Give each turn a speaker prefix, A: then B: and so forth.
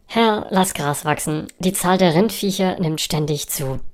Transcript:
A: Herr, lass Gras wachsen. Die Zahl der Rindviecher nimmt ständig zu.